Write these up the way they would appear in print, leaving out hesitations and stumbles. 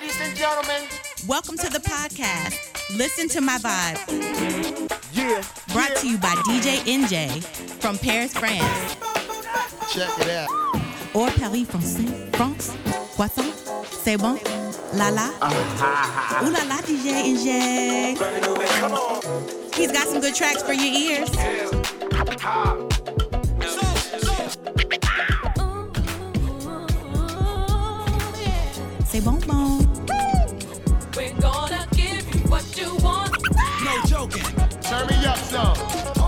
Ladies and gentlemen, welcome to the podcast. Listen to my vibe. Yeah. Brought to you by DJ NJ from Paris, France. Check it out. Or Paris, France. Croissant. C'est bon. La la. Ooh la la, DJ NJ. Come on. He's got some good tracks for your ears. C'est bon, bon. We're gonna give you what you want. No joking. Turn me up some.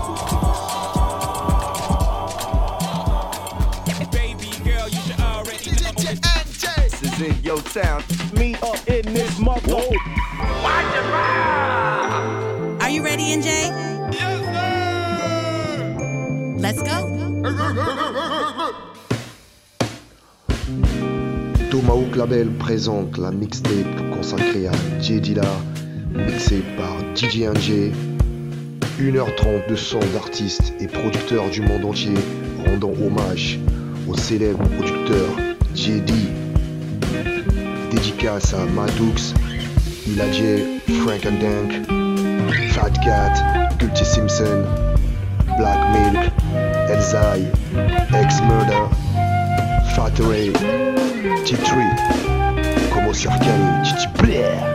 Baby girl, you should already know. This is in your town. Me up in this mother. Watch it ride. Are you ready, NJ? Yes, sir. Let's go. Tomahawk Label présente la mixtape consacrée à Jay Dilla, mixée par DJ NJ. 1h30 de son d'artistes et producteurs du monde entier rendant hommage au célèbre producteur J.D. Dédicace à Maddox, Illa J, Frank and Dank, Fat Cat, Culty Simpson, Black Milk, Elzai, Ex-Murder, Fat Ray, T3, Como Circali, Titi Blair.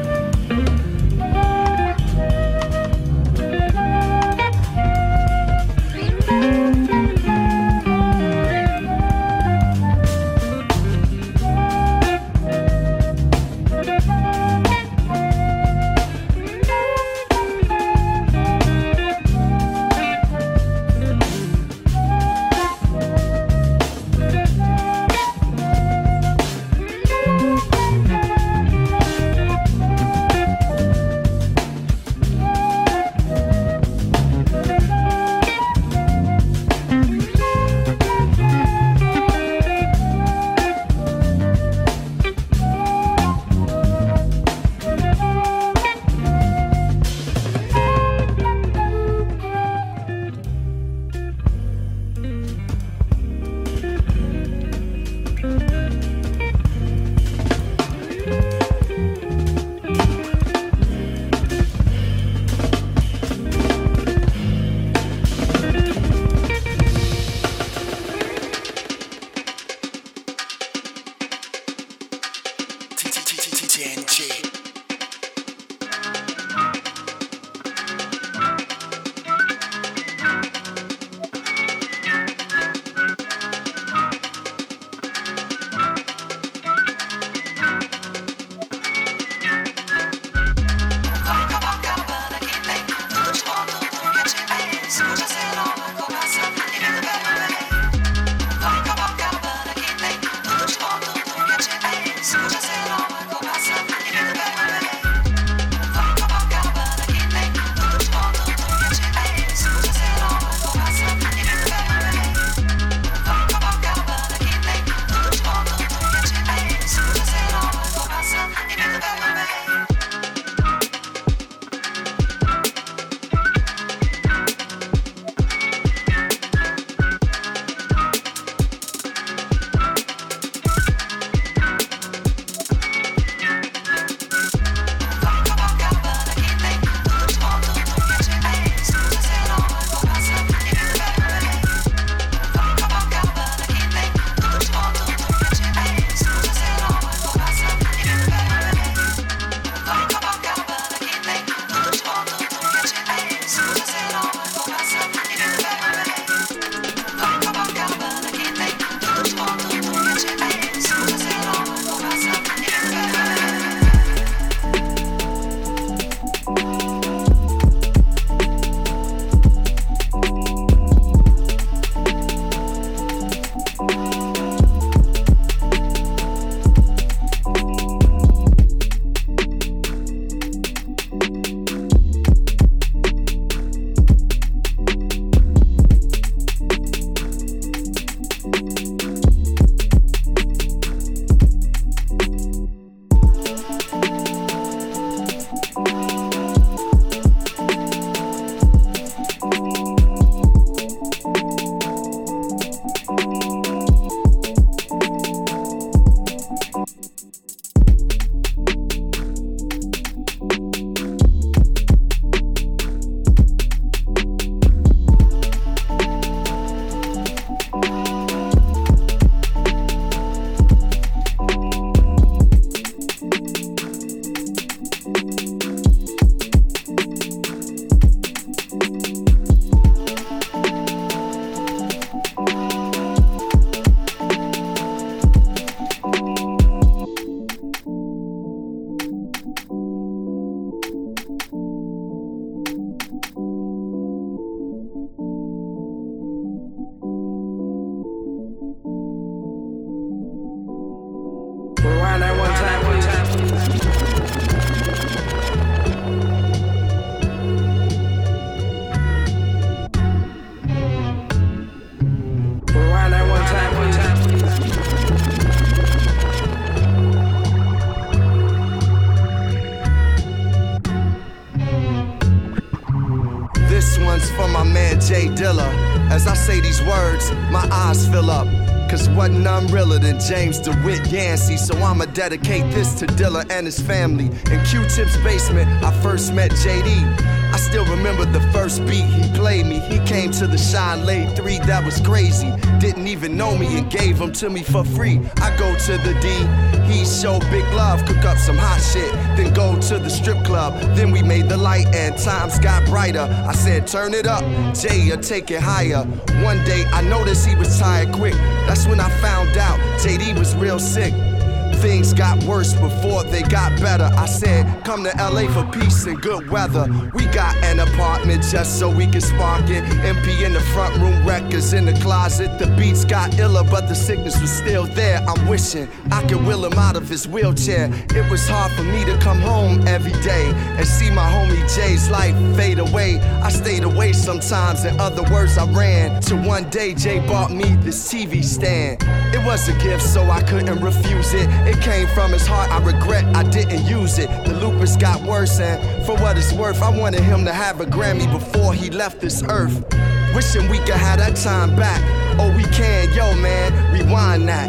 J Dilla. As I say these words, my eyes fill up. Cause wasn't none realer than James DeWitt Yancey. So I'ma dedicate this to Dilla and his family. In Q-Tip's basement, I first met JD. I still remember the first beat he played me. He came to the Shine, laid 3, that was crazy. Didn't even know me and gave them to me for free. I go to the D, he showed big love, cook up some hot shit, then go to the strip club. Then we made the light and times got brighter. I said turn it up, Jay, or take it higher. One day I noticed he was tired quick. That's when I found out JD was real sick. Things got worse before they got better. I said, come to LA for peace and good weather. We got an apartment just so we can spark it. MP in the front room, records in the closet. The beats got iller, but the sickness was still there. I'm wishing I could wheel him out of his wheelchair. It was hard for me to come home every day and see my homie Jay's life fade away. I stayed away sometimes, in other words, I ran. Till one day Jay bought me this TV stand. It was a gift, so I couldn't refuse it. It came from his heart, I regret I didn't use it. The lupus got worse, and for what it's worth, I wanted him to have a Grammy before he left this earth. Wishing we could have that time back. Oh, we can, yo man, rewind that.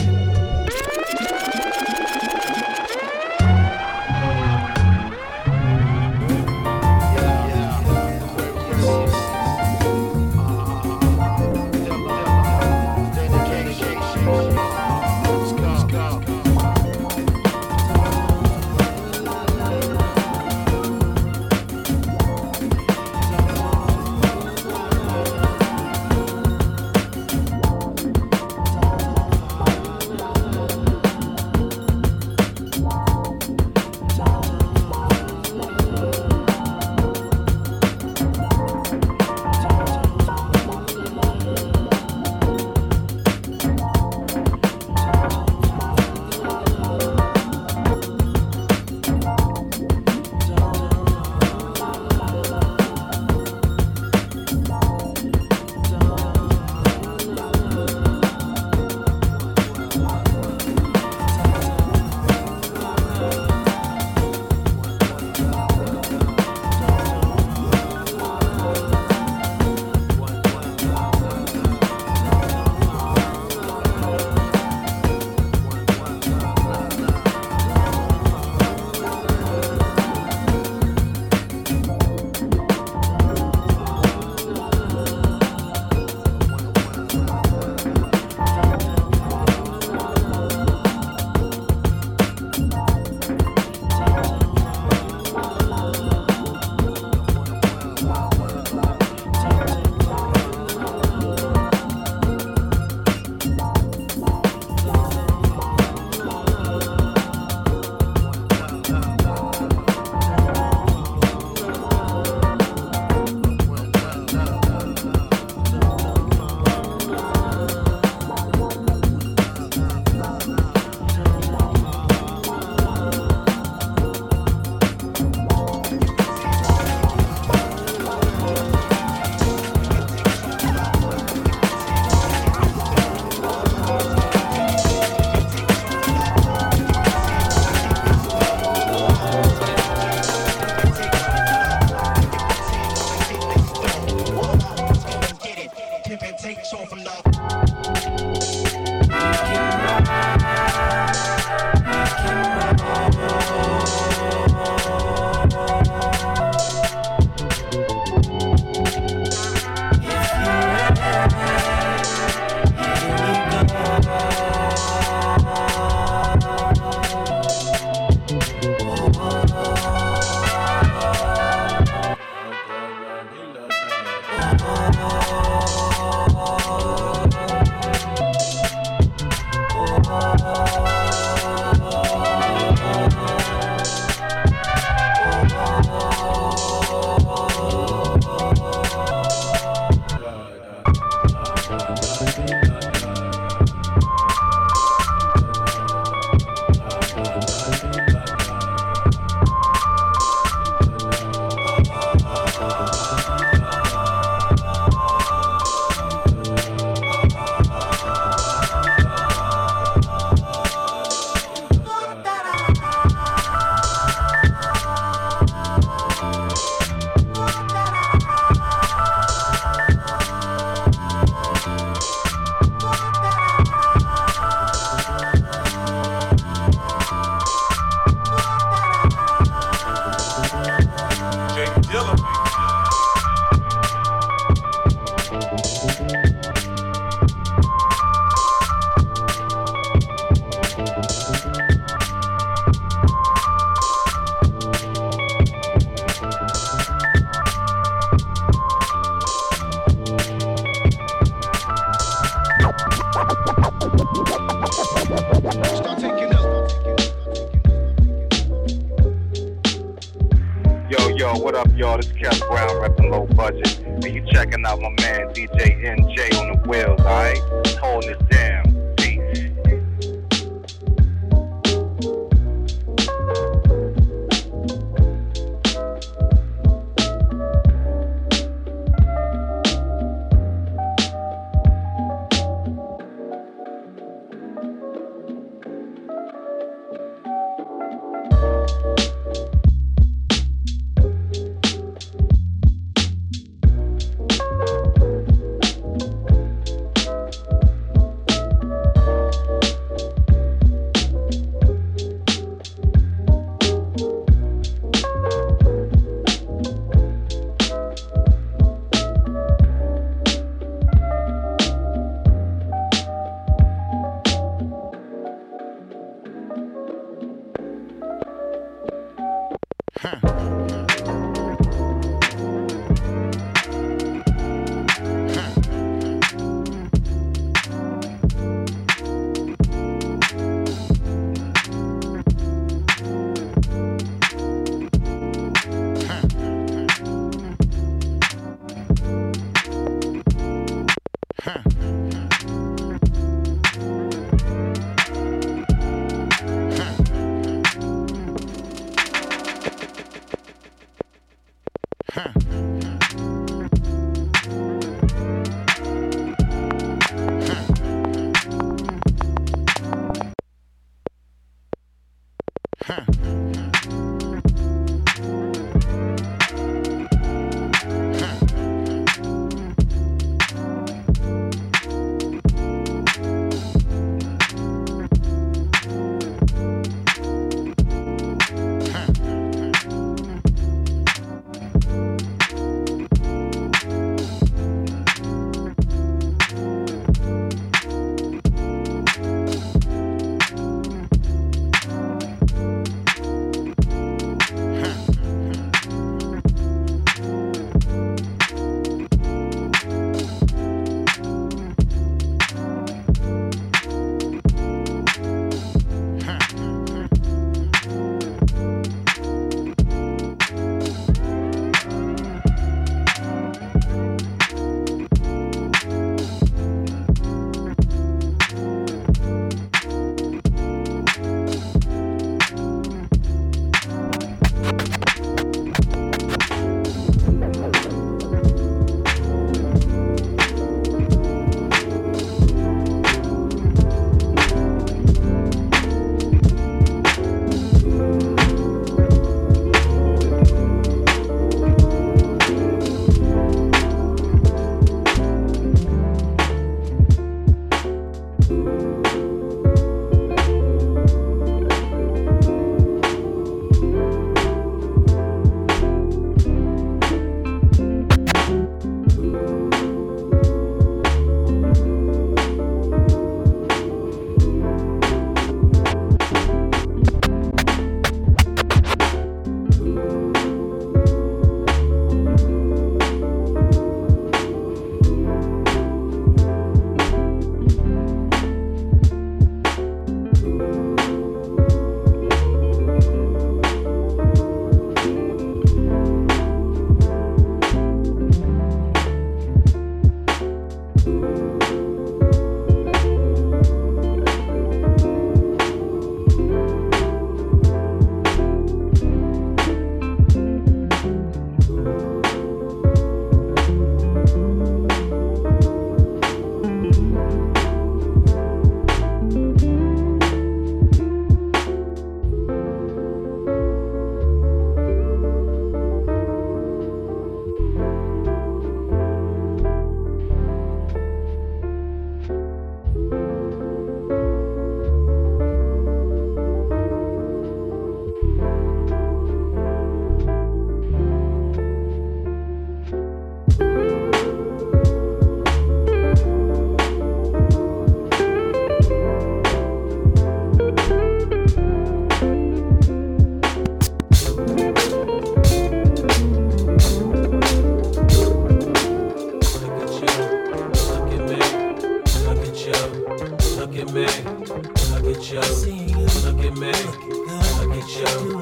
yo, what up, y'all? This is Kev Brown, reppin' Low Budget. And you checking out my man DJ NJ on the wheels, alright? Holding this down. Peace.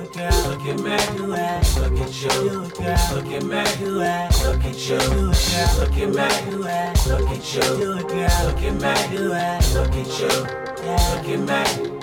Look at me, do it. Look at you, look at me, do it. Look at you, look at me, do it. Look at you, look at me, do it. Look at you, look at me.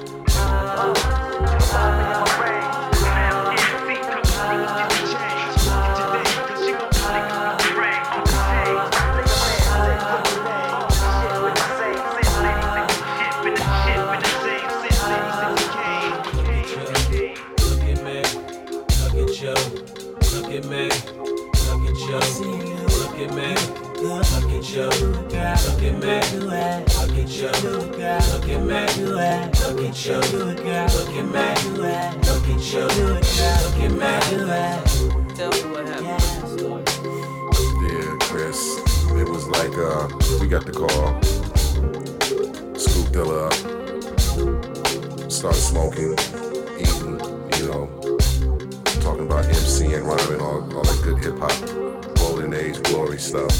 Yeah, Chris, it was like we got the call, scooped Dilla up, started smoking, eating, talking about MC and rhyming, all that good hip hop, golden age glory stuff.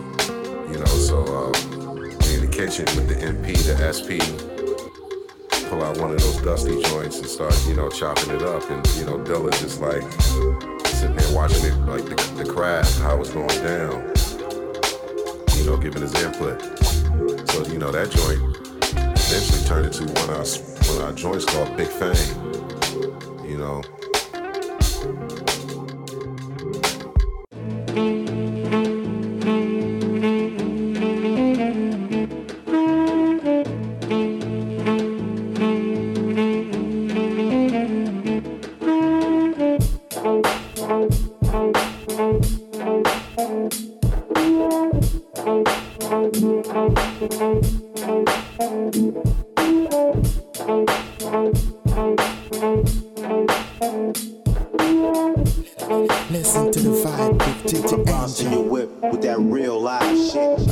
So we in the kitchen with the MP, the SP, pull out one of those dusty joints and start, chopping it up. And, Dilla's just like sitting there watching it, like the craft, how it's going down, giving his input. So, that joint eventually turned into one of our joints called Big Fame, Listen to the vibe with DJ Bounce in your whip with that real live shit.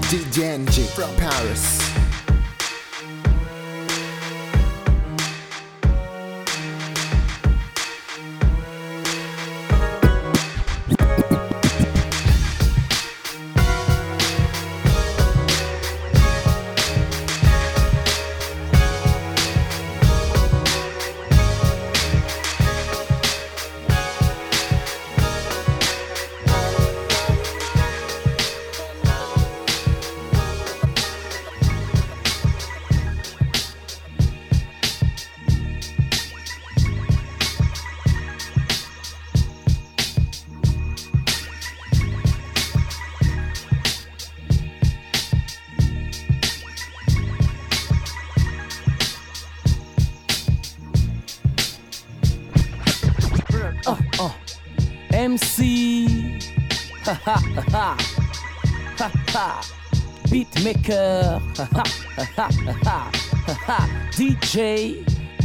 DJ NJ from Paris. MC, ha ha ha ha ha, beatmaker, ha ha ha ha ha, DJ,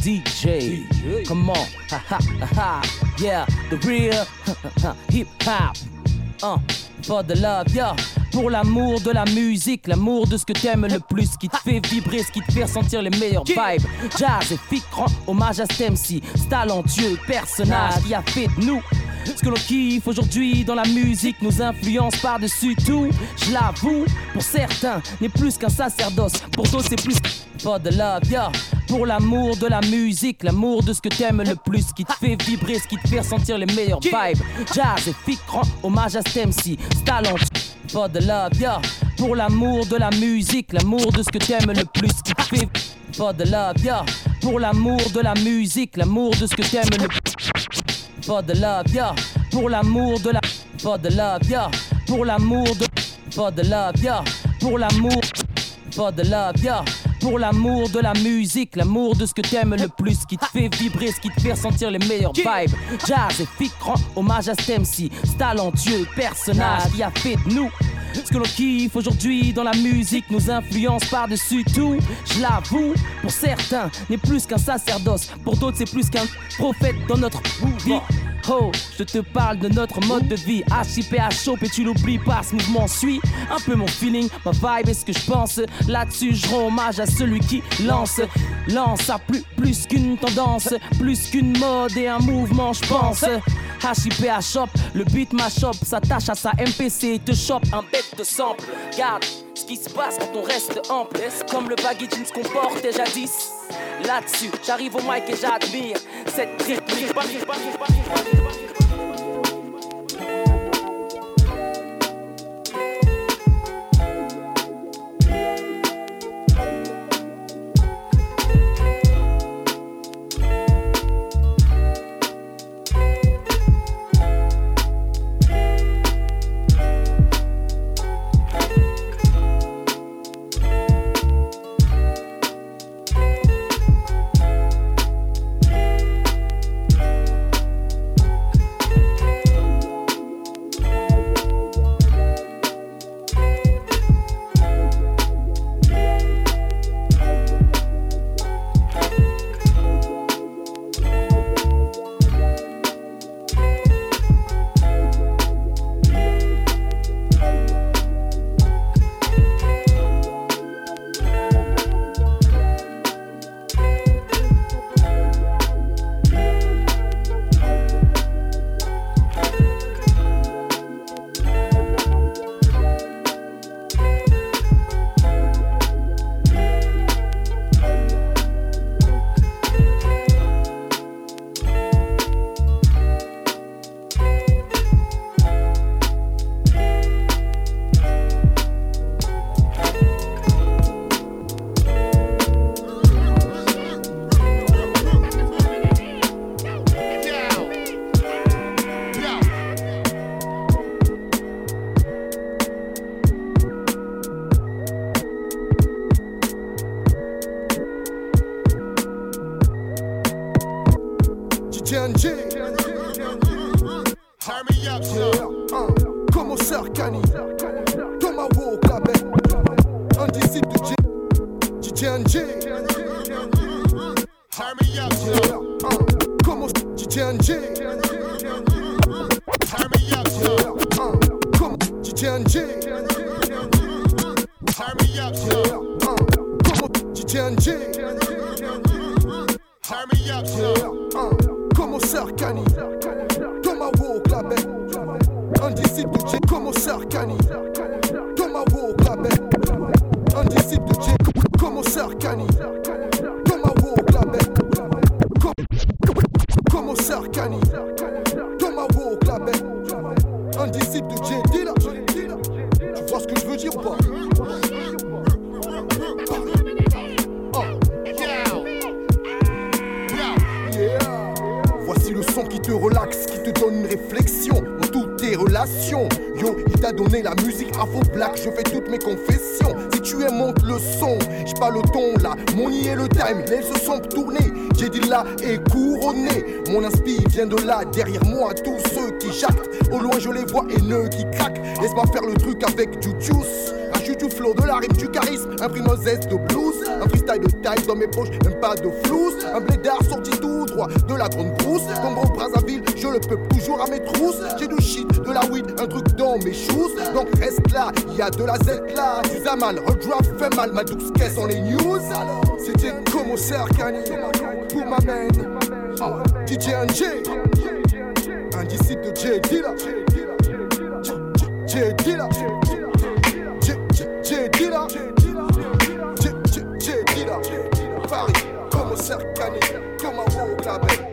come on, ha ha ha, yeah, the real hip hop, for the love, yeah. Pour l'amour de la musique, l'amour de ce que t'aimes le plus, ce qui te fait vibrer, ce qui te fait ressentir les meilleures vibes. Jazz et Fick rend hommage à cet MC, ce talentueux personnage qui a fait de nous ce que l'on kiffe aujourd'hui dans la musique, nous influence par-dessus tout. Je l'avoue, pour certains, n'est plus qu'un sacerdoce, pour d'autres c'est plus for the love, yeah. Pour l'amour de la musique, l'amour de ce que t'aimes le plus, ce qui te fait vibrer, ce qui te fait ressentir les meilleures vibes. Jazz et Fick rend hommage à cet MC, ce talent for the love, yeah. Pour l'amour de la musique, l'amour de ce que t'aimes le plus, ce qui te fait for the love, yeah. Pour l'amour de la musique, l'amour de ce que t'aimes le plus. For the love, yeah. Pour l'amour de la. For the love, yeah. Pour l'amour de. For the love, yeah. Pour l'amour. For the love, yeah. Pour l'amour de la musique, l'amour de ce que t'aimes le plus, ce qui te fait vibrer, ce qui te fait ressentir les meilleures vibes. Jazz et Fick rend hommage à cet MC, ce talentueux personnage qui a fait de nous ce que l'on kiffe aujourd'hui dans la musique, nous influence par-dessus tout. Je l'avoue, pour certains, n'est plus qu'un sacerdoce, pour d'autres c'est plus qu'un prophète dans notre vie. Oh, je te parle de notre mode de vie. HIPHOP et tu l'oublies pas, ce mouvement suit un peu mon feeling, ma vibe et ce que je pense. Là-dessus, je rends hommage à celui qui lance à plus qu'une tendance, plus qu'une mode et un mouvement, je pense. HIPHOP, le beat mashup, s'attache à sa MPC et te chope un bête de sample. Regarde ce qui se passe quand on reste ample, comme le baggy jeans qu'on portait jadis. Là-dessus, j'arrive au mic et j'admire cette rythmique. Turn me up, son. Como DJ Turn me up, son. Como Sarkani, Tomahawk la bête. Un disciple de J. Como Sarkani, Tomahawk la bête. Un disciple de J. Como Sarkani, Tomahawk la bête. Como Sarkani, Tomahawk la bête. Un disciple de J. Dilla. Tu vois ce que je veux dire ou pas? Voici le son qui te relaxe, qui te donne une réflexion dans toutes tes relations. Yo, il t'a donné la musique Afro-Black, je fais toutes mes confessions. Si tu aimes, monte le son, j'ai pas le ton là. Mon i et le time, les se sont tournés. J'ai dit là et couronné. Mon inspi vient de là, derrière moi, tous ceux qui jactent. Au loin, je les vois haineux qui craquent. Laisse-moi faire le truc avec du juice. Rajoute du flow, de la rime, du charisme. Imprime un zeste de blues. Un freestyle de taille dans mes poches, même pas de flouze. Un blédard sorti tout droit de la grande brousse. Congo Brazzaville, je le peux toujours à mes trousses. J'ai du shit, de la weed, un truc dans mes shoes. Donc reste là, y a de la Z là. Tu as mal, redraft fait mal, ma douce caisse en les news. C'était Como Sarkani pour ma main. DJ NJ, un disciple de J Dilla. J Dilla. J Dilla. J Dilla. Paris, Como Sarkani, Tomahawk la bête.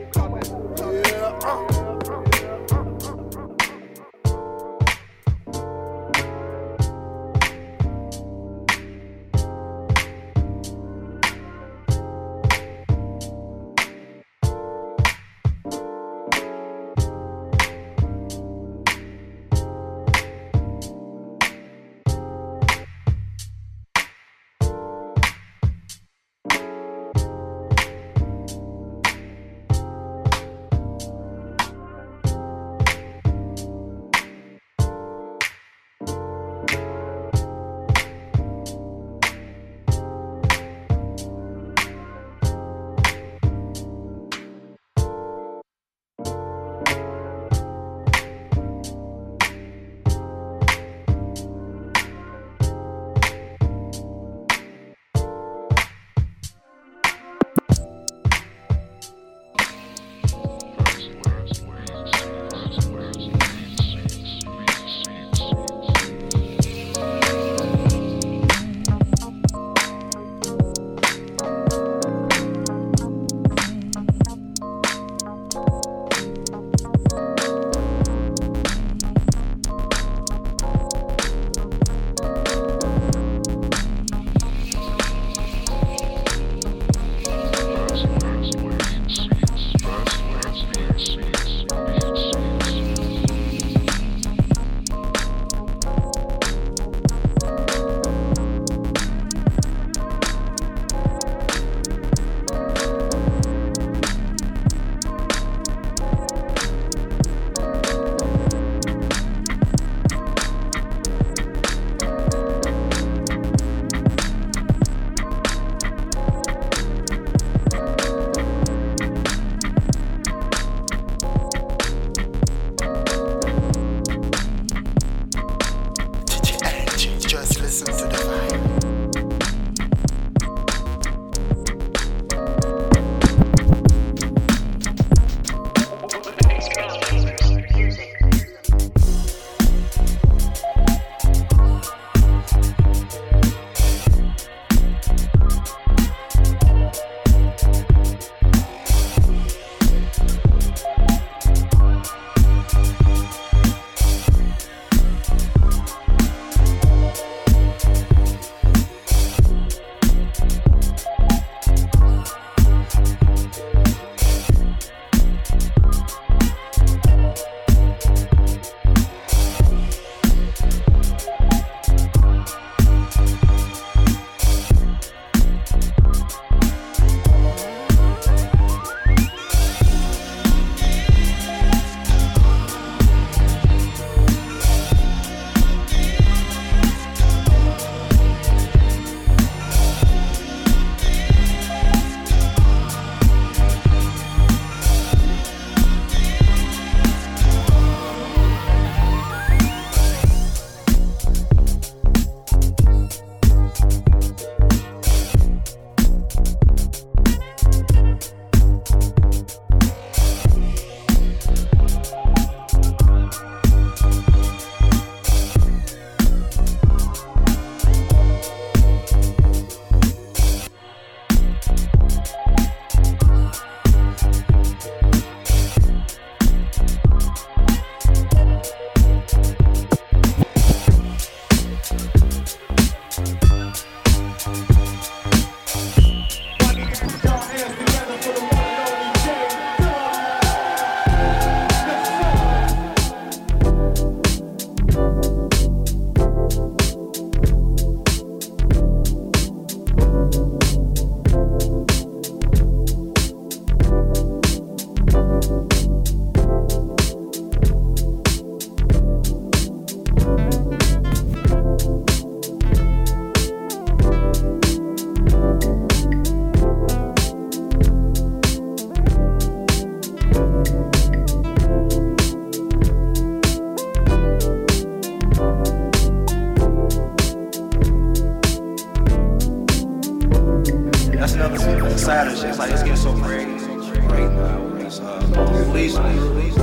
so crazy right now with this police, man.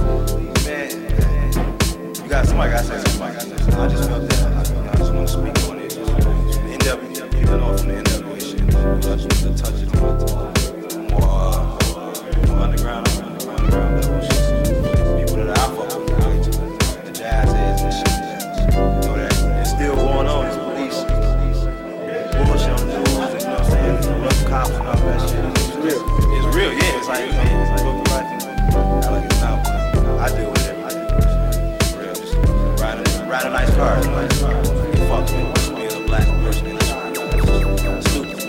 Somebody got to say something. I just felt that. I just want to speak on it. NW, you know, from the NW shit. I just want to touch it more underground level shit. People that I fuck with, the jazz heads and shit. You know that it's still going on. This police bullshit on the news, you know what I'm saying? Rough cops and all that shit. It's real, yeah. It's like, I like it now. I deal with it. Riding nice cars, like, fuck me, being a black person in this world. Stupid.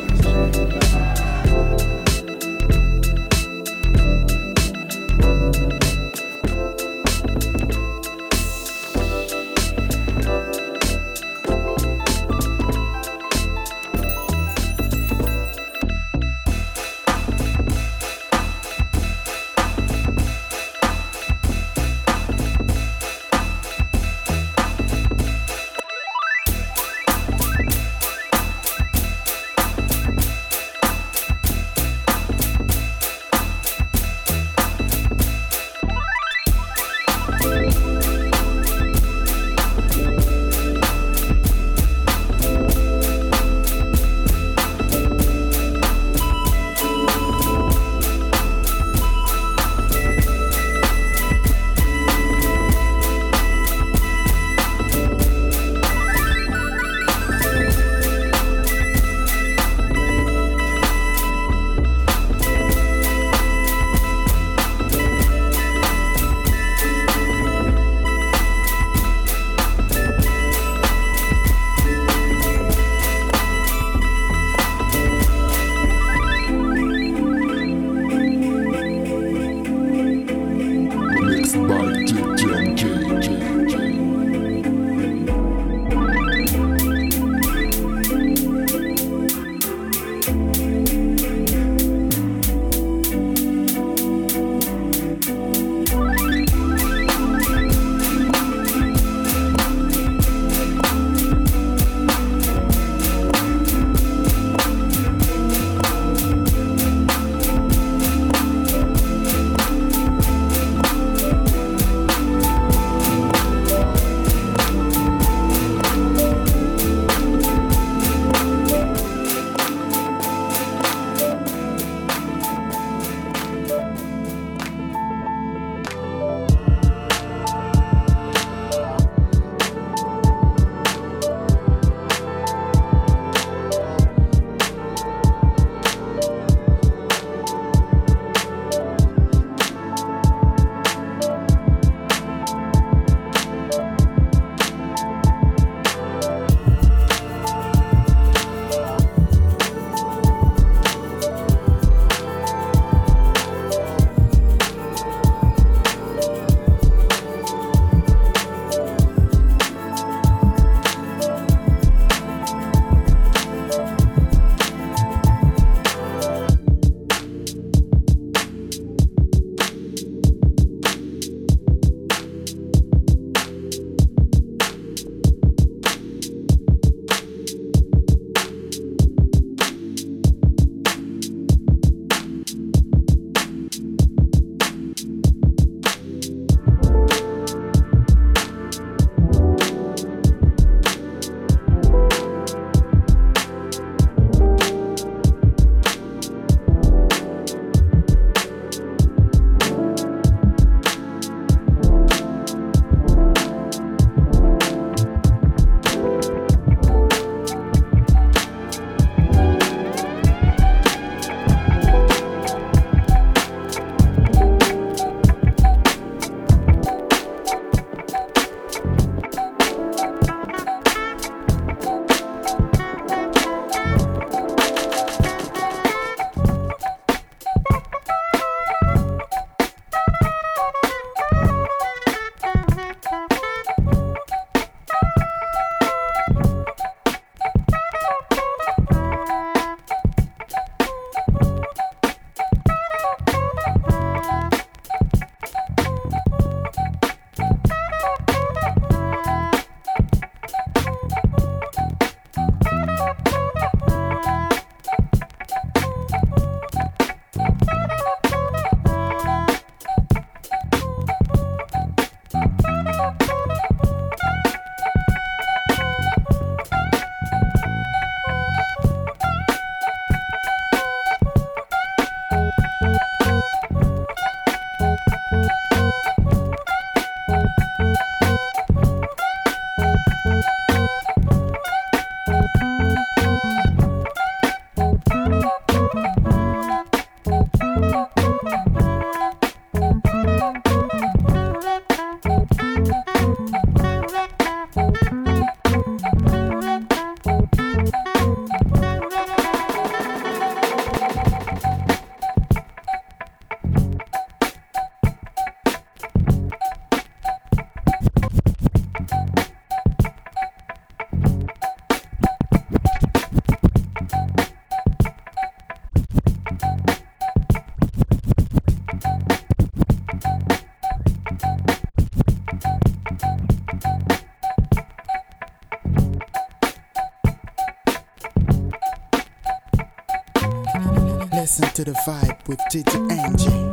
vibe with DJ.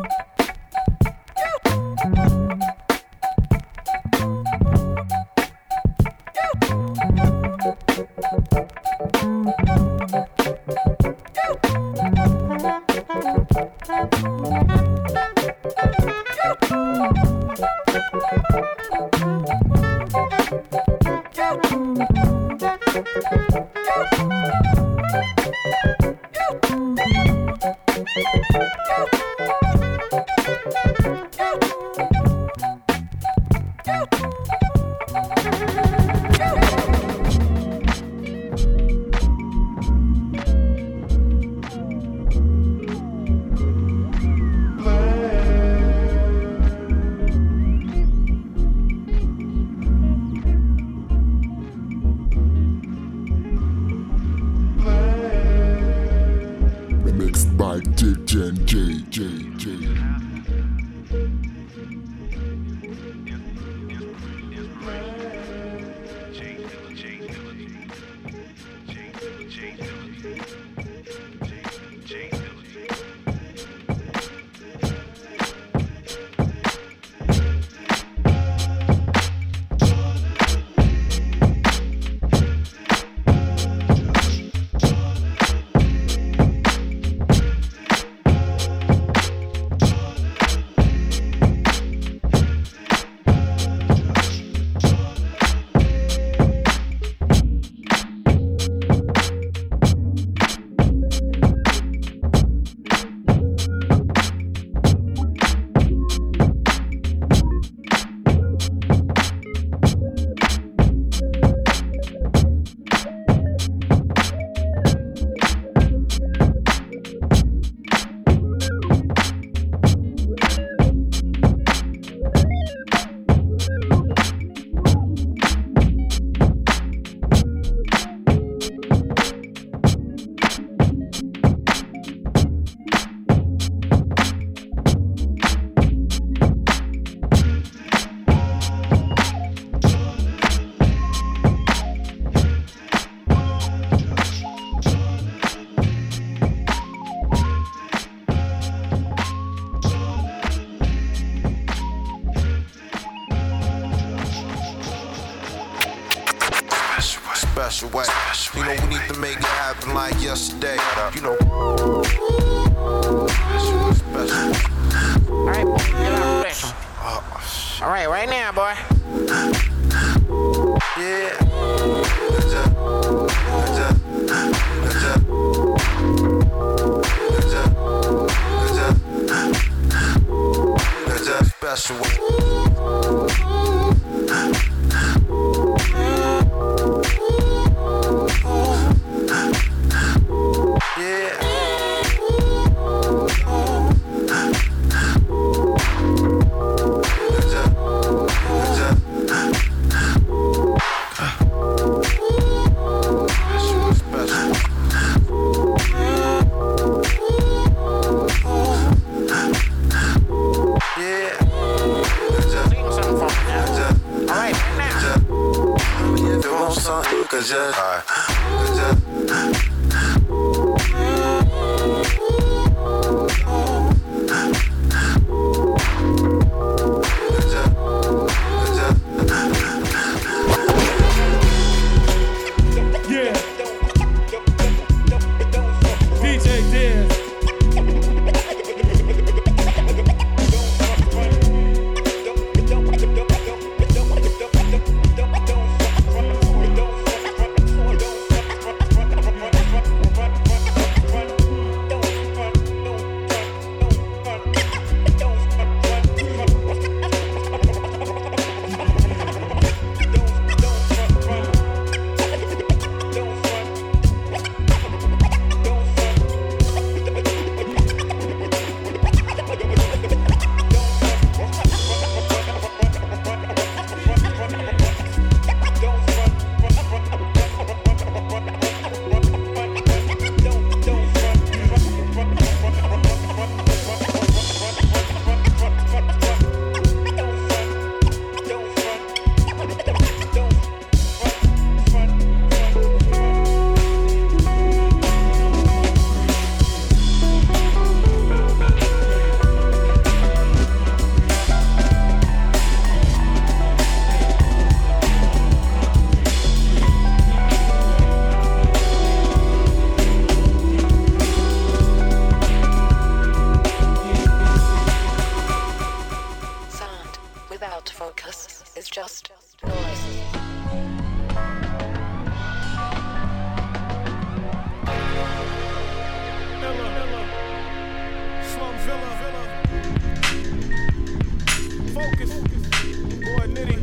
Special way. You know, we need to make it happen like yesterday. You know. Alright, boy, get out special. Alright, right now, boy. Yeah. Special way. just noise. Slum Villa. Focus. Boy, Nitty.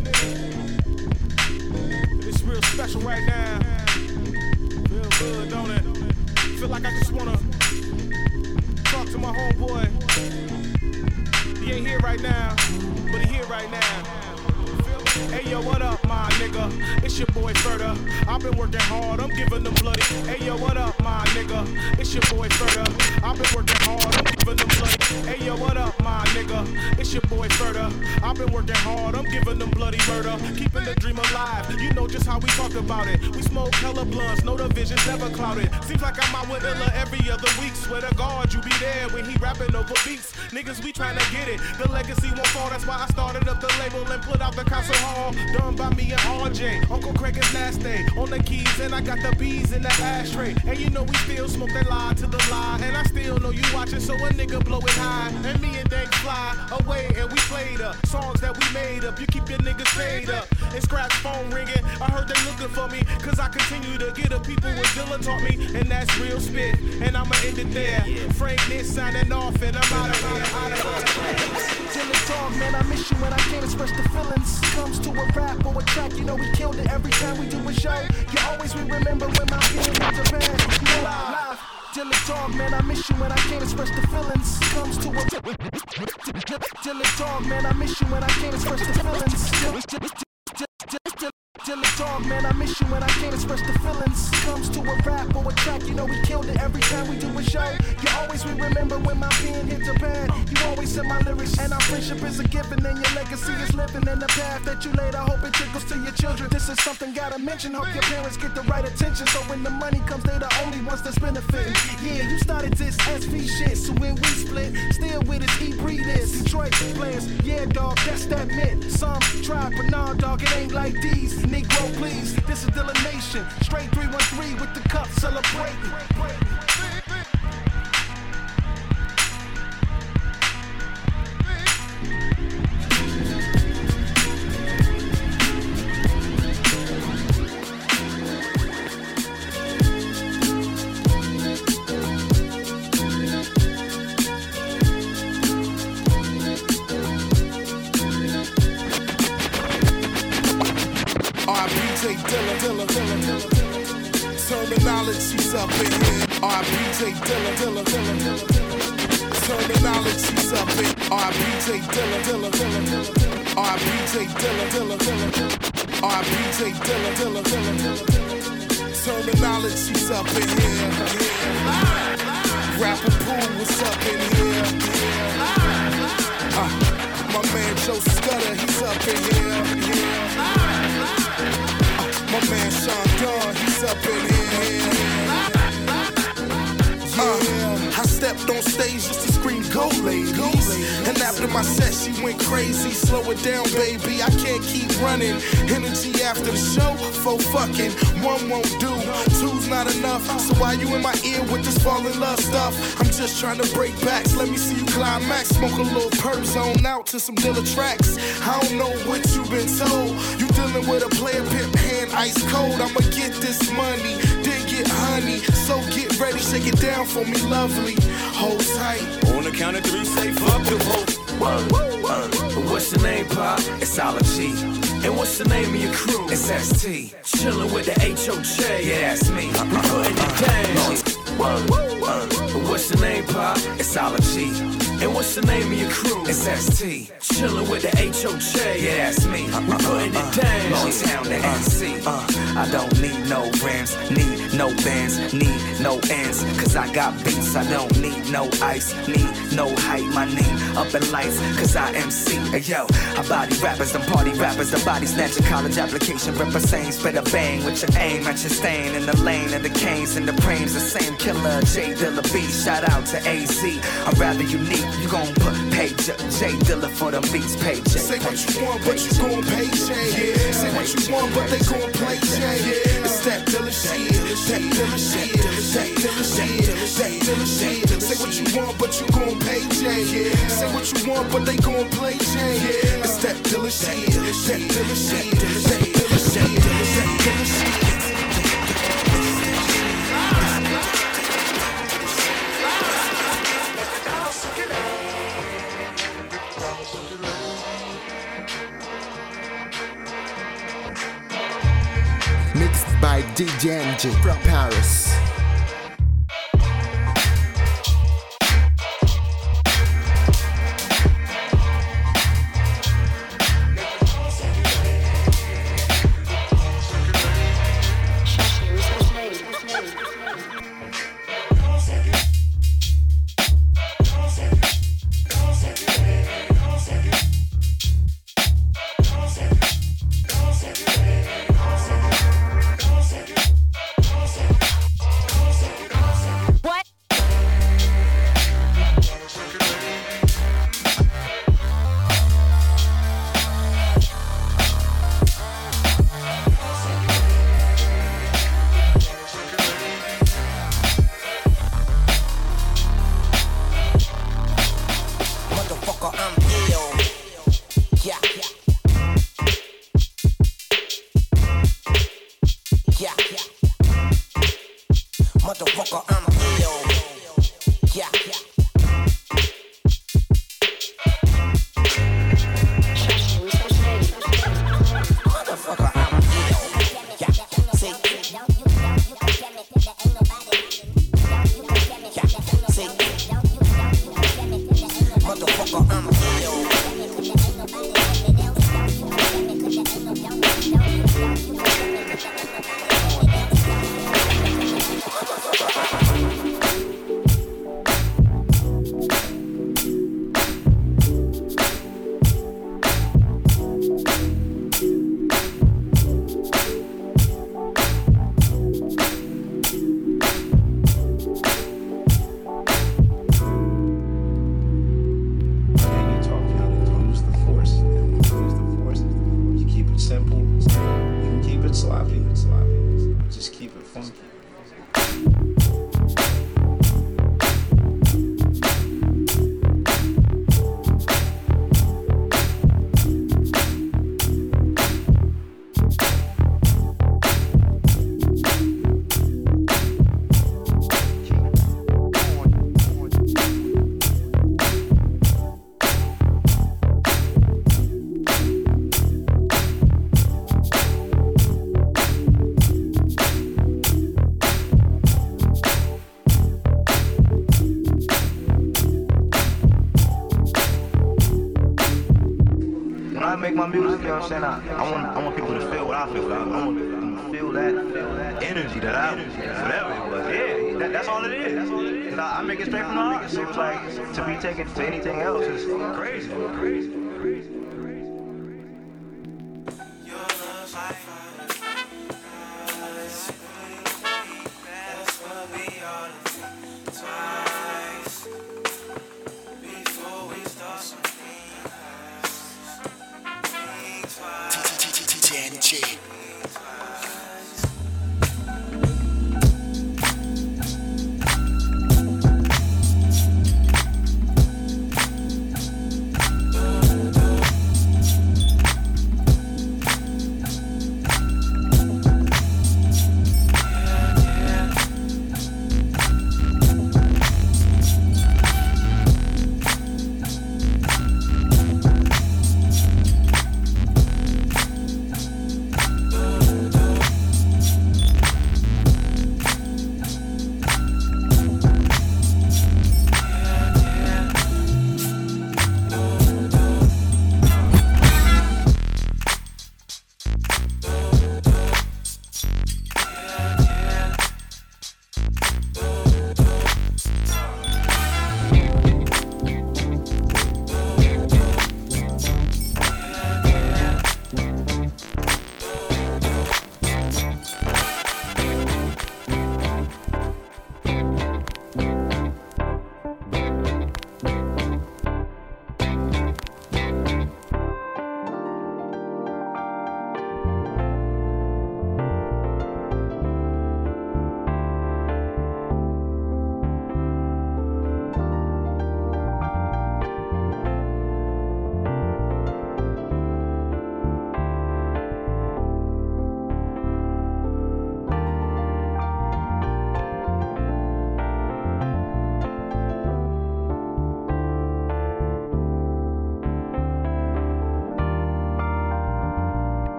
It's real special right now. Feel good, don't it? Feel like I just wanna talk to my homeboy. He ain't here right now, but he here right now. Hey yo, what up, my nigga? It's your boy Ferda. I've been working hard, I'm giving them bloody. Hey yo, what up, my nigga? It's your boy Ferda. I've been working hard, I'm giving them bloody. Hey yo, what up, my nigga? It's your boy Ferda. I've been working hard, I'm giving them bloody murder. Keeping the dream alive, you know just how we talk about it. We smoke hella blunts, no divisions never clouded. Seems like I'm out with Illa every other week. Swear to God, you be there when he rapping over beats. Niggas, we tryna get it. The legacy won't fall, that's why I started up the label and put out the concert hall. Done by me and RJ. Uncle Craig is last day on the keys, and I got the bees in the ashtray. And you know we still smoke that lie to the lie. And I still know you watching, so a nigga blow it high. And me and Dank fly away, and we played up songs that we made up. You keep your niggas paid up. And Scratch phone ringing. I heard they looking for me, cause I continue to get up people what Dilla taught me. And that's real spit, and I'ma end it there. Frank this signing off, and I'm out of here. Dilla talk, man, I miss you when I can't express the feelings. Comes to a rap or a track, you know we killed it every time we do a show. You always will remember when my pen hit the band. You know live. Dilla talk, man, I miss you when I can't express the feelings. Comes to a Dilla talk, man, I miss you when I can't express the feelings. Dilla talk, man, I miss you when I can't express the feelings. Comes to a rap or a track, you know we killed it every time we do a show. You always will remember when my pen hit the pad. You always said my lyrics, and our friendship is a given, and your legacy is living in the path that you laid. I hope it trickles to your children. This is something gotta mention. Hope your parents get the right attention, so when the money comes, they the only ones that's benefiting. Yeah, you started this SV shit, so when we split, still with us, E-Breed is Detroit players. Yeah, dog, that's that myth. Some try, but nah, dog, it ain't like these. Negro, please, this is Dilla Nation. Straight 313 with the cup celebrating. R.I.P. Dilla. Terminology's up in here. R.I.P. Dilla. Terminology's up in R.I.P. Dilla. R.I.P. Dilla. R.I.P. Dilla. Terminology's up in here. Rapper Pool was up in here. My man Joe Scudder, he's up in here. My man Sean Dunn, he's up in here. I stepped on stage just to scream, go ladies. And after my set, she went crazy. Slow it down, baby, I can't keep running. Energy after the show, for fucking. One won't do, two's not enough. So why you in my ear with this fall in love stuff? I'm just trying to break backs, let me see you climax. Smoke a little perp, zone out to some Dilla tracks. I don't know what you been told. You dealing with a player pimp hand ice cold. I'ma get this money, then get honey. So get ready, shake it down for me, lovely. Hold tight. On the count of three, say fuck the whole. What's your name, Pop? It's Ology. And what's the name of your crew? It's ST. Chillin' with the HOJ. Yeah, that's me. I'm putting it down. What's the name, Pop? It's Ology. And what's the name of your crew? It's ST. Chillin' with the HOJ. Yeah, that's me. I'm putting it down. Motown to NC. I don't need no rims, need no bands, need no ends. Cause I got beats, I don't need no ice, need no height. My name up in lights, cause I MC. Hey, yo, I body rappers, them party rappers, the body snatcher, college application, ripper same, spit a bang with your aim at your stain in the lane of the canes and the brains, the same killer, J Dilla B. Shout out to AZ, I'm rather unique, you gon' pay J Dilla for them beats, pay J. Say what you want, but you gon' pay J. Yeah. Say what you want, but they gon' play J. Yeah. It's that Dilla shit, that Dilla shit, that Dilla shit, that Dilla shit. Say what you want, but you gon' pay J. Yeah. Say what you want, but they gon' play J. Yeah. It's that Dilla shit, that Dilla shit, that Dilla shit, that Dilla shit. Mixed by DJ NJ from Paris. Make my music, you know what I'm saying? I want people to feel what I feel. I want them to feel that energy that I, whatever it was. Yeah, that's all it is. Cause I make it straight from the heart. So it's like, to be taken to anything else is crazy.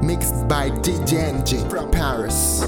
Mixed by DJ NJ from Paris.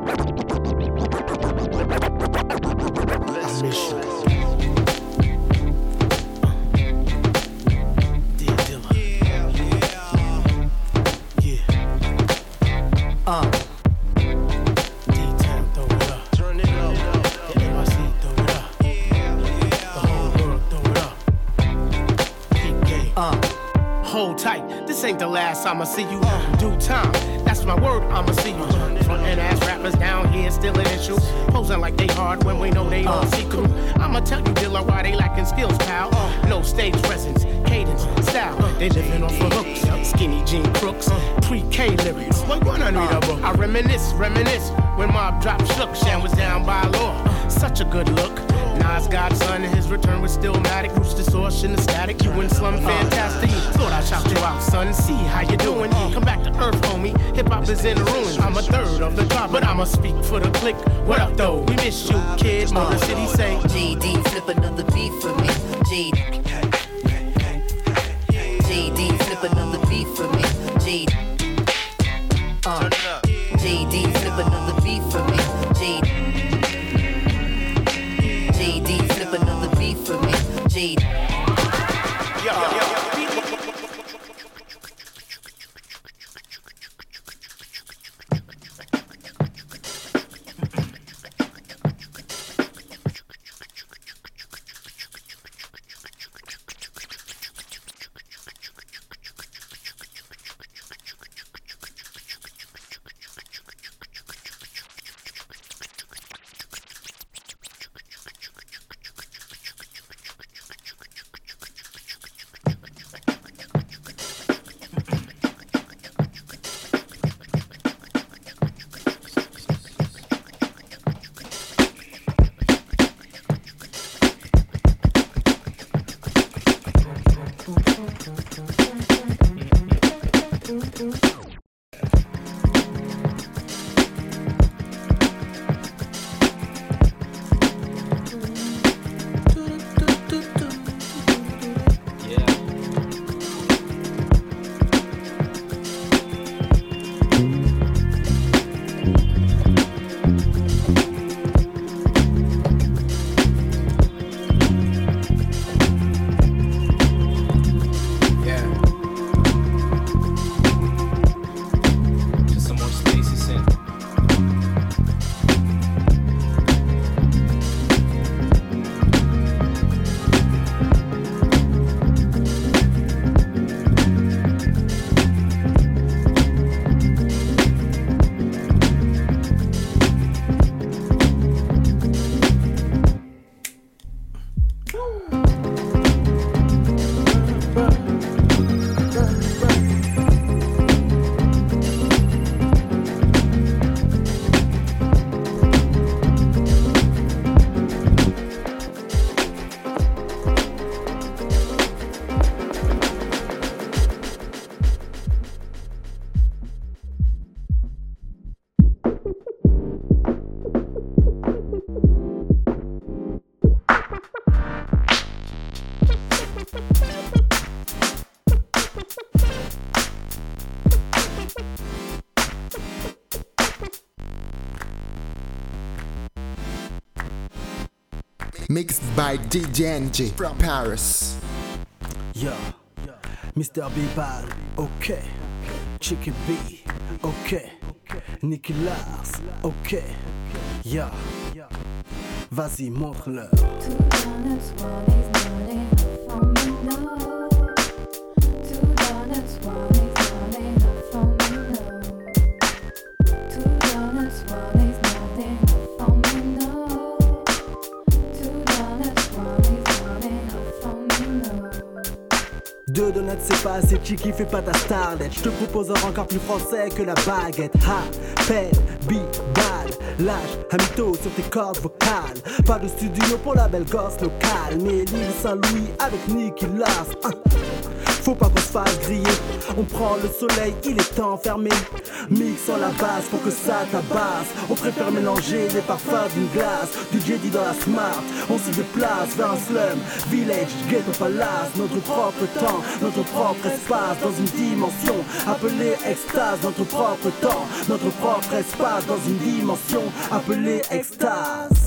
Hold tight, this ain't the last I'ma see you. Due time, that's my word, I'ma see you. Frontin' ass rappers down here still an issue. Posing like they hard when we know they all see through. I'ma tell you, Dilla, why they lacking skills, pal. No stage presence, cadence, style. They living off of hooks, skinny jean crooks, pre-K lyrics. What one unreadable? I reminisce when Mob Drop shook. Shan was down by law, such a good look. Nas Godson and his return was stillmatic. Roots distortion and static. You and Slum fantastic. Thought I'd shout you out, son. See how you doing. Come back to earth, homie. Hip hop is in the ruins. I'm a third of the tribe, but I'ma speak for the clique. What up, though? We miss you, kid. Motor City say. JD, flip another beat for me. JD, flip another beat for me. JD, flip another beat for me. JD, flip another beat for me. JD. Mixed by DJ NJ from Paris. Yo, Mr. B-Ball, ok. Chicky B, ok. Nicky Lars, ok. Yo, vas-y, montre-leur. Deux donuts c'est pas assez cheeky, fais pas ta starlet. Je te propose un encore plus français que la baguette. Rappel, beat, bad, lâche, un mytho sur tes cordes vocales. Pas de studio pour la belle gosse locale, mais l'île Saint-Louis avec Nicky Lars. Faut pas qu'on se fasse griller. On prend le soleil, il est enfermé. Mixons la base pour que ça tabasse. On préfère mélanger les parfums d'une glace. Du Jedi dans la smart, on se déplace vers un slum, village, ghetto palace. Notre propre temps, notre propre espace. Dans une dimension appelée extase. Notre propre temps, notre propre espace. Dans une dimension appelée extase.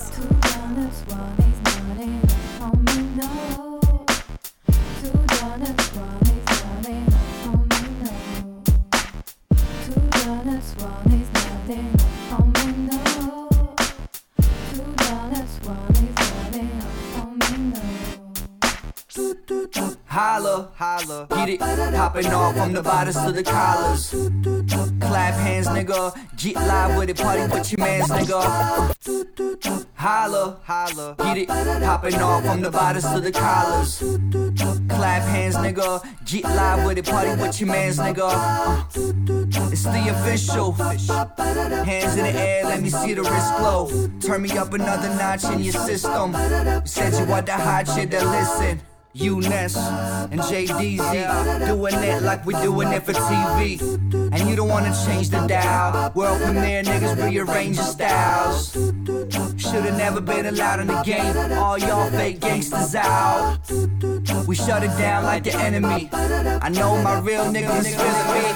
Holla, holla, get it, popping off from the bodies to the collars. Clap hands, nigga, get live with it, party with your mans, nigga. Holla, holla, get it, popping off from the bodies to the collars. Clap hands, nigga, get live with it, party with your mans, nigga. It's the official. Hands in the air, let me see the wrist glow. Turn me up another notch in your system. You said you want that hot shit, then listen. UNES and JDZ doing it like we doing it for TV. And you don't wanna change the dial. World premiere niggas rearrange your styles. Should've never been allowed in the game. All y'all fake gangsters out. We shut it down like the enemy. I know my real niggas feeling me.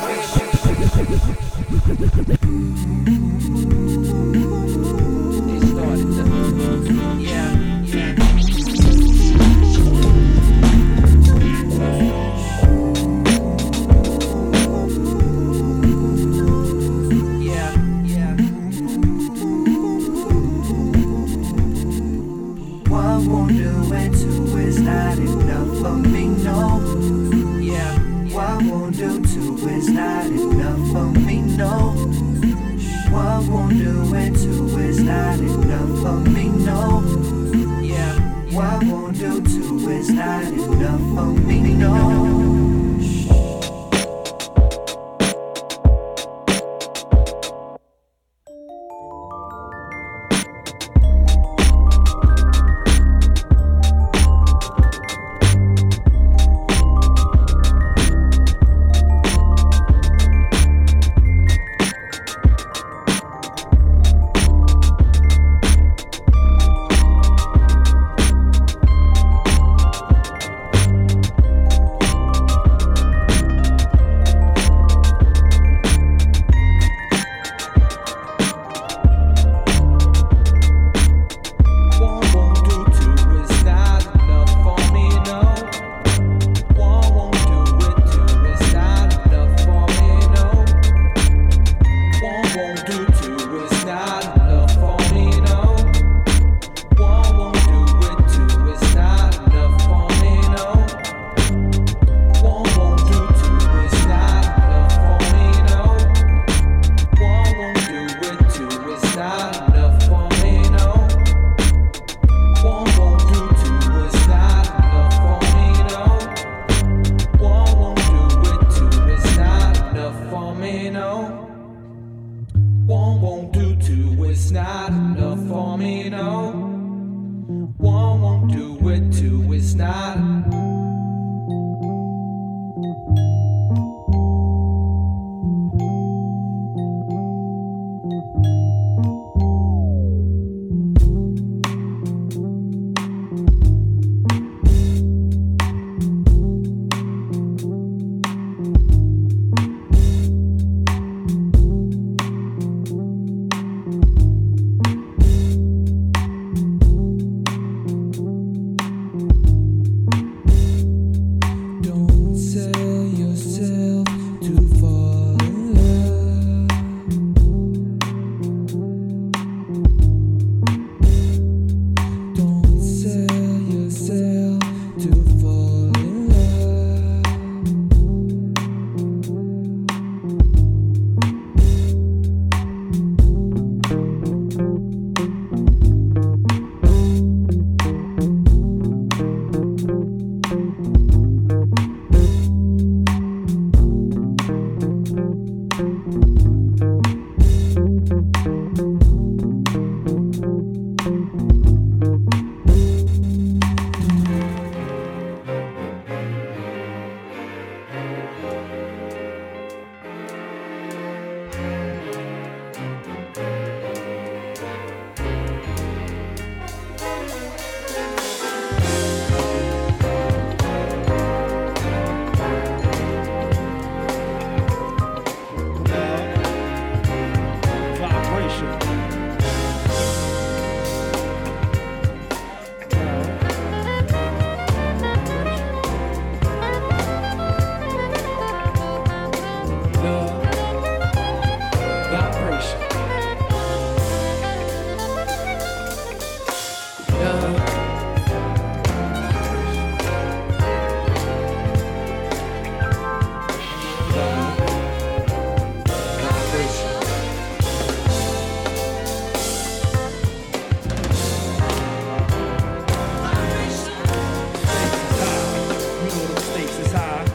stakes is high.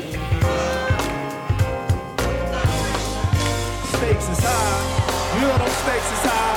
Stakes is high. You know them stakes is high.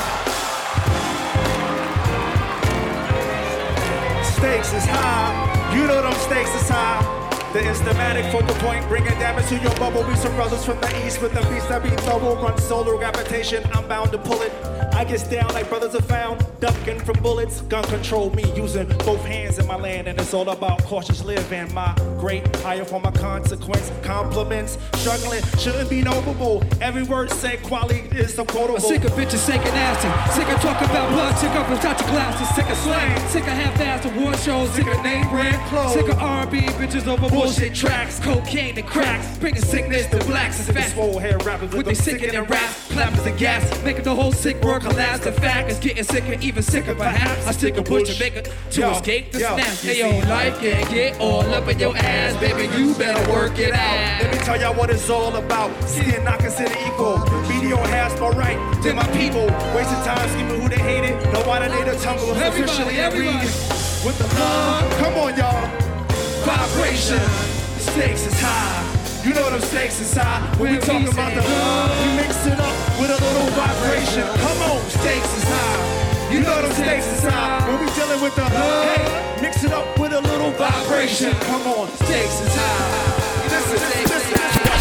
Stakes is high. You know them stakes is high. The instamatic focal point, bringing damage to your bubble. We some brothers from the east with the beats that be double. Run solar gravitation, I'm bound to pull it. I get down like brothers are found, ducking from bullets. Gun control me, using both hands in my land. And it's all about cautious living. My great higher form of consequence. Compliments, struggling, shouldn't be noble. Every word said, quality is so quotable. I'm sick of bitches shaking nasty. Sick of talking about blood, sick of Versace glasses. Sick of slang, sick of half-assed award shows. Sick of name brand clothes. Sick of R&B bitches over bullshit tracks. Cocaine and cracks, bringing sickness to blacks. Sick of swole hair rappers with they sickening raps. Clappers and gas, making the whole sick world collapse. The fact is getting sicker, even sicker perhaps. I stick a bush to make it to escape the snap. Hey yo, life can get all up in your ass, baby. You better work it out. Let me tell y'all what it's all about. Seeing not considered equal. Media has more right than my people. Wasting time scheming who they hated. No why they the tumble is officially everybody. With the love, come on y'all. Vibration, stakes is high. You know them stakes is high. When we talking about the love, we mix it up with a little vibration. Come on, stakes is high. You know them stakes is high. When we dealing with the hey, mix it up with a little vibration. Come on, stakes is high. Listen, listen.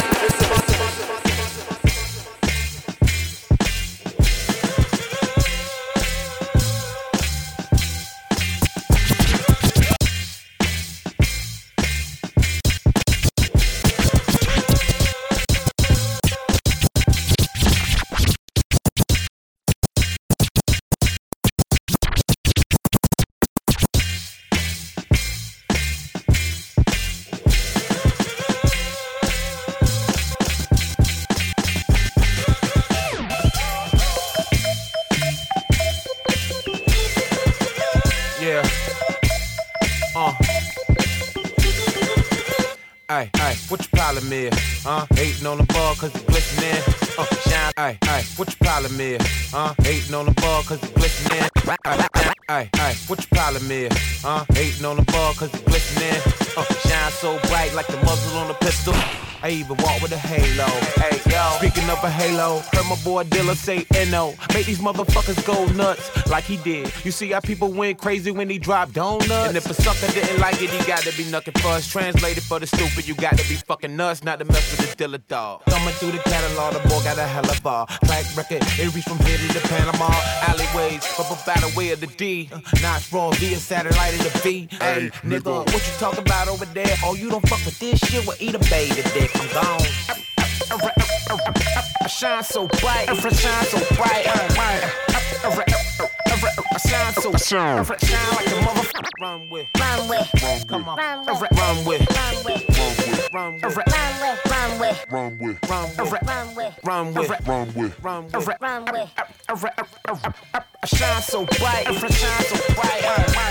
What your problem is? Hating on the ball cause it's glistening. Shine. What your problem is? Hating on the ball cause it's glistening. What your problem is? Hating on the ball cause it's glistening. Shine so bright like the muzzle on a pistol. I even walk with a halo. Hey, yo. Speaking of a halo, heard my boy Dilla say N.O. Make these motherfuckers go nuts like he did. You see how people went crazy when he dropped donuts? And if a sucker didn't like it, he got to be knuckin' fuss. Translated for the stupid, you got to be fucking nuts not to mess with the Dilla dog. Thumbing through the catalog, the boy got a hella bar. Track record, it reached from here to the Panama. Alleyways, up by the way of the D. Not raw via satellite of the V. Hey, nigga, what you talk about over there? Oh, you don't fuck with this shit? Well, eat a baby dick. I'm gone. I shine so bright. I shine so bright. I shine so shine like a motherfucker. Run with. Come on. Run with. Run with. I shine so bright. I shine so bright.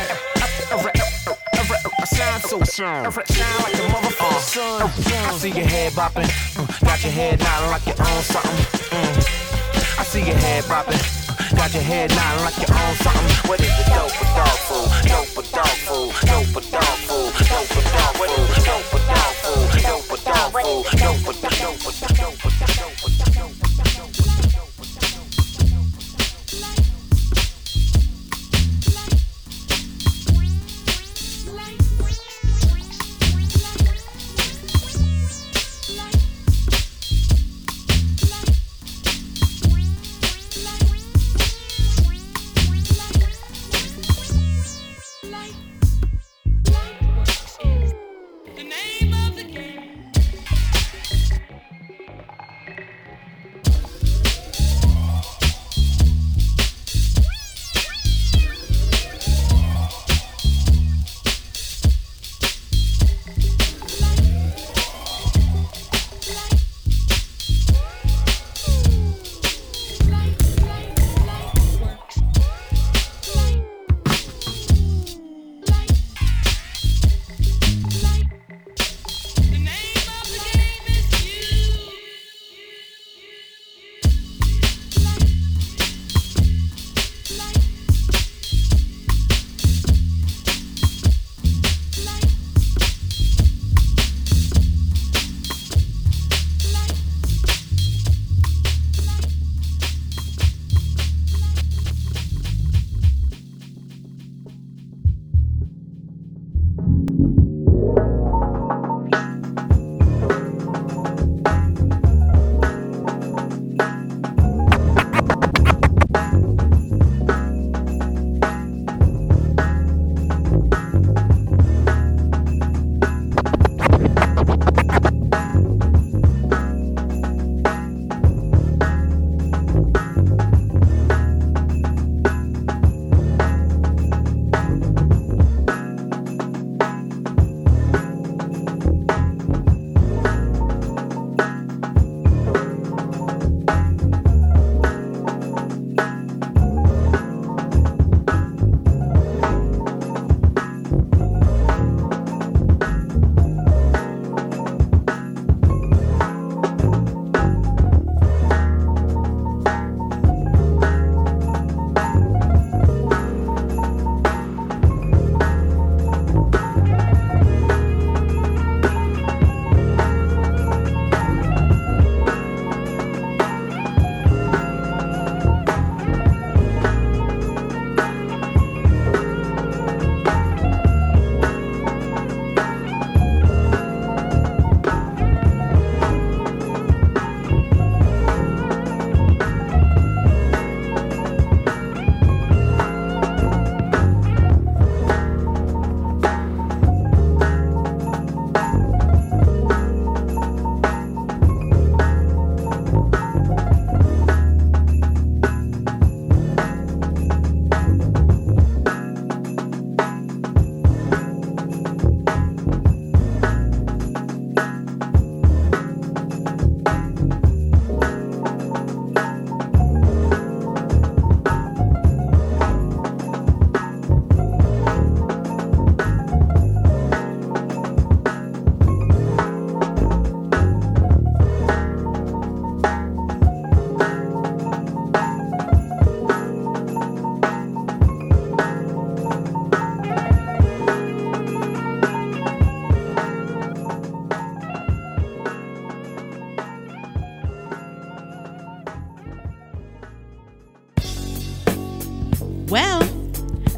I shine so shine like a motherfucker sun. I see your head bopping, got your head nodding like you own something. I see your head bopping, got your head nodding like you own something. What is it? Dope for dog food, dope for dog food, dope for dog food, dope for dog food, dope for dog food, dope for dog food, dope for dog food, dope for dog food.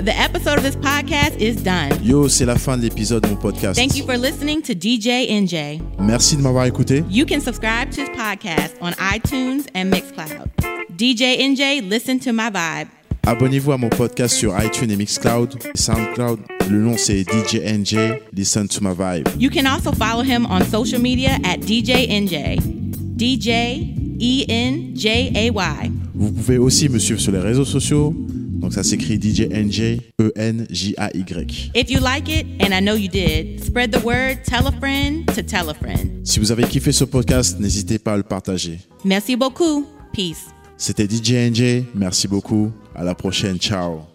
The episode of this podcast is done. Yo, c'est la fin de l'épisode de mon podcast. Thank you for listening to DJ NJ. Merci de m'avoir écouté. You can subscribe to his podcast on iTunes and Mixcloud. DJ NJ, listen to my vibe. Abonnez-vous à mon podcast sur iTunes et Mixcloud, SoundCloud. Le nom c'est DJ NJ, Listen to my vibe. You can also follow him on social media at DJ NJ. DJ ENJAY. Vous pouvez aussi me suivre sur les réseaux sociaux. Donc ça s'écrit DJ NJ, ENJAY. If you like it, and I know you did, spread the word, tell a friend to tell a friend. Si vous avez kiffé ce podcast, n'hésitez pas à le partager. Merci beaucoup. Peace. C'était DJ NJ. Merci beaucoup. À la prochaine. Ciao.